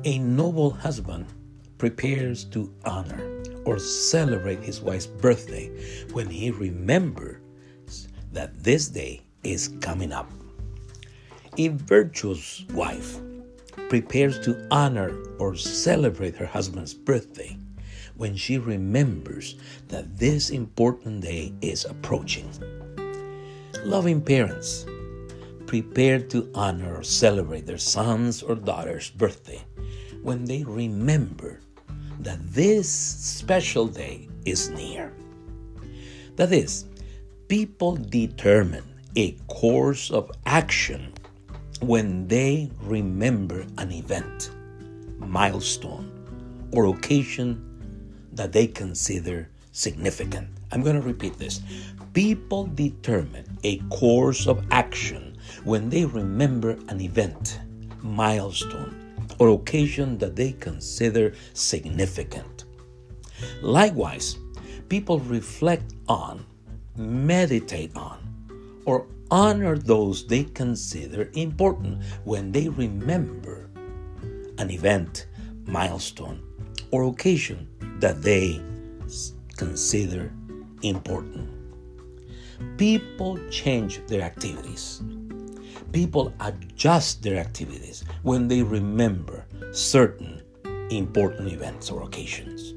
A noble husband prepares to honor or celebrate his wife's birthday when he remembers that this day is coming up. A virtuous wife prepares to honor or celebrate her husband's birthday when she remembers that this important day is approaching. Loving parents prepare to honor or celebrate their son's or daughter's birthday when they remember that this special day is near. That is, people determine a course of action when they remember an event, milestone, or occasion that they consider significant. I'm going to repeat this. People determine a course of action when they remember an event, milestone, or occasion that they consider significant. Likewise, people reflect on, meditate on, or honor those they consider important when they remember an event, milestone, or occasion that they consider important. People change their activities. People adjust their activities when they remember certain important events or occasions.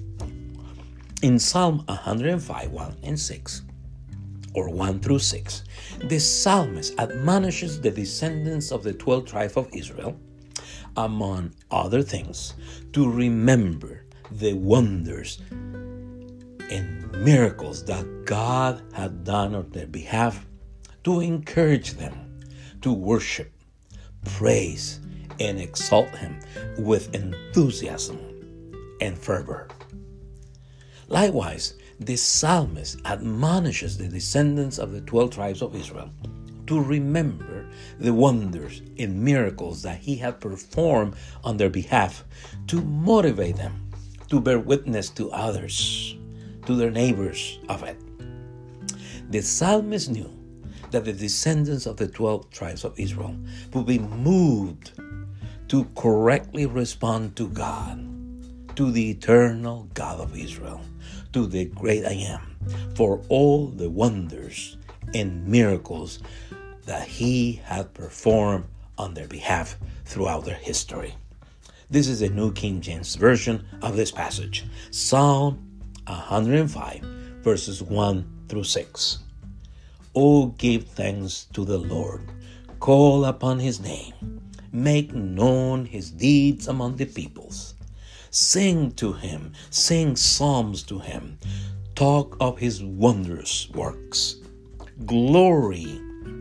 In Psalm 105, 1 and 6, or 1 through 6, the psalmist admonishes the descendants of the 12 tribes of Israel, among other things, to remember the wonders and miracles that God had done on their behalf, to encourage them to worship, praise, and exalt Him with enthusiasm and fervor. Likewise, the psalmist admonishes the descendants of the 12 tribes of Israel to remember the wonders and miracles that He had performed on their behalf, to motivate them to bear witness to others, to their neighbors of it. The psalmist knew that the descendants of the 12 tribes of Israel would be moved to correctly respond to God, to the eternal God of Israel, to the great I Am, for all the wonders and miracles that He had performed on their behalf throughout their history. This is the New King James Version of this passage, Psalm 105, verses 1 through 6. Oh, give thanks to the Lord. Call upon His name. Make known His deeds among the peoples. Sing to Him. Sing psalms to Him. Talk of His wondrous works. Glory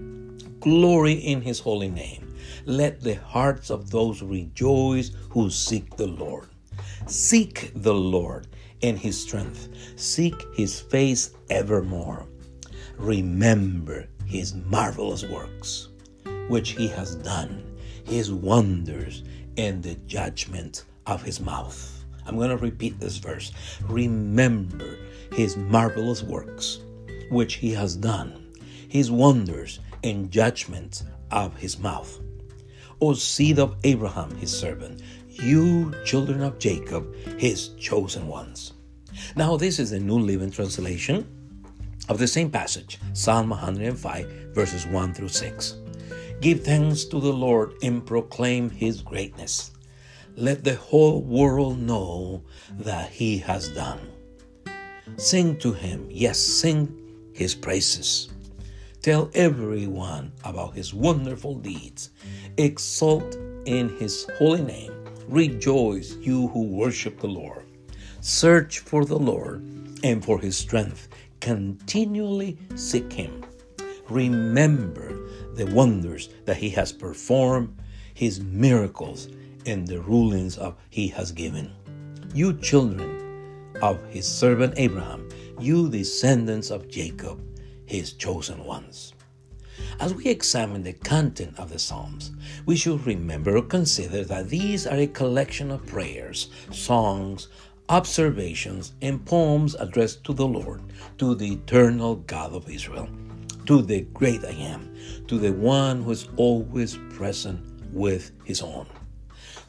in His holy name. Let the hearts of those rejoice who seek the Lord. Seek the Lord and His strength. Seek His face evermore. Remember His marvelous works, which He has done, His wonders, and the judgment of His mouth. I'm going to repeat this verse. Remember His marvelous works, which He has done, His wonders, and judgment of His mouth. O seed of Abraham, His servant, you children of Jacob, His chosen ones. Now this is the New Living Translation of the same passage, Psalm 105, verses 1 through 6. Give thanks to the Lord and proclaim His greatness. Let the whole world know that He has done. Sing to Him, yes, sing His praises. Tell everyone about His wonderful deeds. Exult in His holy name. Rejoice, you who worship the Lord. Search for the Lord and for His strength. Continually seek Him. Remember the wonders that He has performed, His miracles, and the rulings He has given. You children of His servant Abraham, you descendants of Jacob, His chosen ones. As we examine the content of the Psalms, we should remember or consider that these are a collection of prayers, songs, observations, and poems addressed to the Lord, to the eternal God of Israel, to the great I Am, to the one who is always present with His own.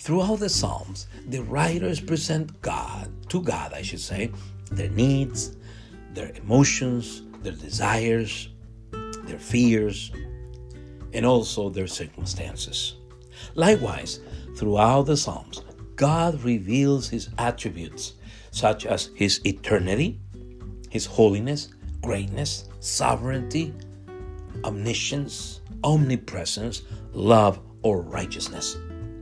Throughout the Psalms, the writers present to God, their needs, their emotions, their desires, their fears, and also their circumstances. Likewise, throughout the Psalms, God reveals his attributes, such as his eternity, his holiness, greatness, sovereignty, omniscience, omnipresence, love, or righteousness.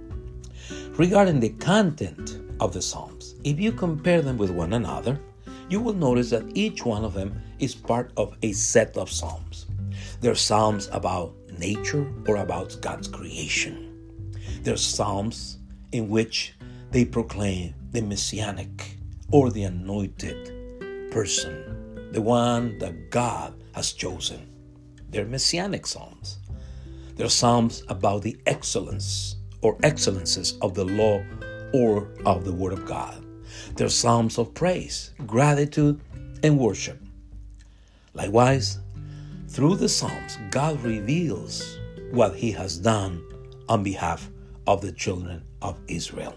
Regarding the content of the Psalms, if you compare them with one another, you will notice that each one of them is part of a set of Psalms. They're Psalms about nature or about God's creation. They're Psalms in which they proclaim the Messianic or the anointed person, the one that God has chosen. They're Messianic Psalms. They're Psalms about the excellence or excellences of the law or of the Word of God. They're Psalms of praise, gratitude, and worship. Likewise, through the Psalms, God reveals what he has done on behalf of the children of Israel.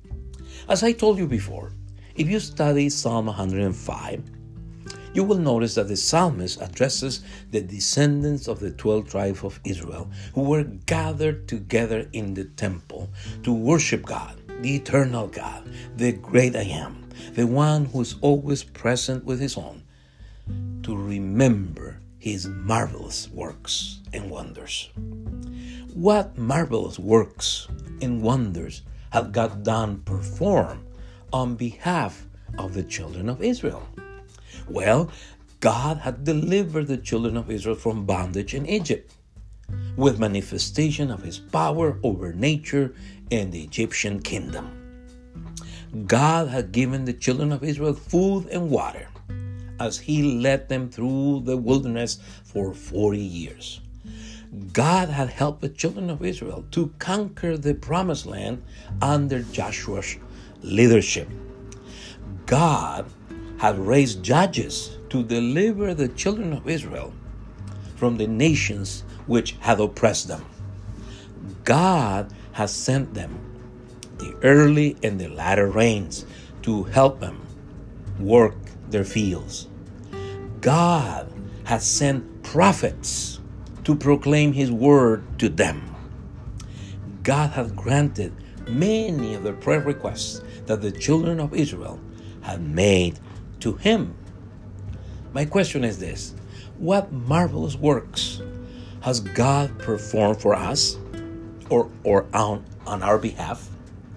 As I told you before, if you study Psalm 105, you will notice that the psalmist addresses the descendants of the 12 tribes of Israel who were gathered together in the temple to worship God, the eternal God, the great I am, the one who is always present with his own, to remember his marvelous works and wonders. What marvelous works and wonders had God performed on behalf of the children of Israel? Well, God had delivered the children of Israel from bondage in Egypt with manifestation of his power over nature and the Egyptian kingdom. God had given the children of Israel food and water as he led them through the wilderness for 40 years. God had helped the children of Israel to conquer the promised land under Joshua's leadership. God had raised judges to deliver the children of Israel from the nations which had oppressed them. God has sent them the early and the latter rains to help them work their fields. God has sent prophets to proclaim his word to them. God has granted many of the prayer requests that the children of Israel had made to him. My question is this: what marvelous works has God performed for us or on our behalf?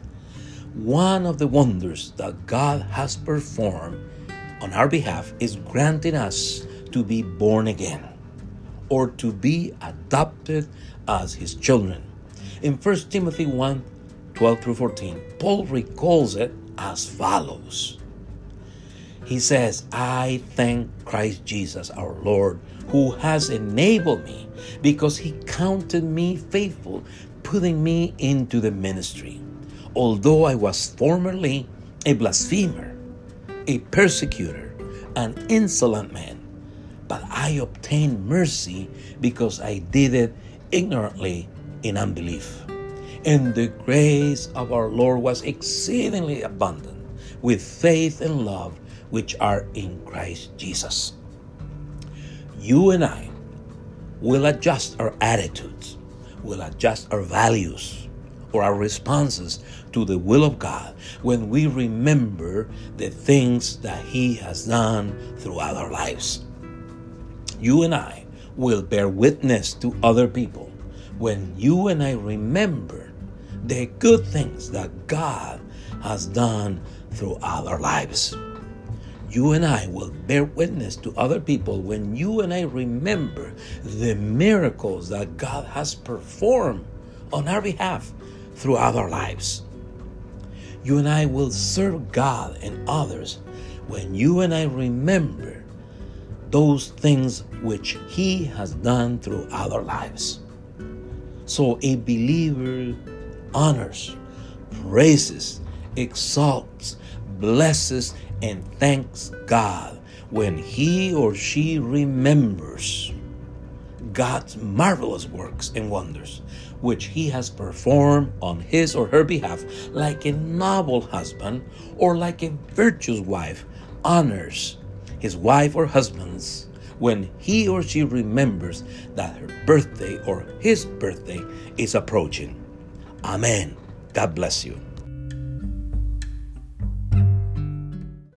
One of the wonders that God has performed on our behalf is granting us to be born again or to be adopted as his children. In 1 Timothy 1:12-14, Paul recalls it as follows. He says, I thank Christ Jesus our Lord, who has enabled me because he counted me faithful, putting me into the ministry. Although I was formerly a blasphemer, a persecutor, an insolent man, but I obtained mercy because I did it ignorantly in unbelief. And the grace of our Lord was exceedingly abundant with faith and love which are in Christ Jesus. You and I will adjust our attitudes, will adjust our values or our responses to the will of God when we remember the things that he has done throughout our lives. You and I will bear witness to other people when you and I remember the good things that God has done throughout our lives. You and I will bear witness to other people when you and I remember the miracles that God has performed on our behalf throughout our lives. You and I will serve God and others when you and I remember those things which he has done throughout our lives. So a believer honors, praises, exalts, blesses, and thanks God when he or she remembers God's marvelous works and wonders, which he has performed on his or her behalf, like a noble husband or like a virtuous wife honors his wife or husbands when he or she remembers that her birthday or his birthday is approaching. Amen. God bless you.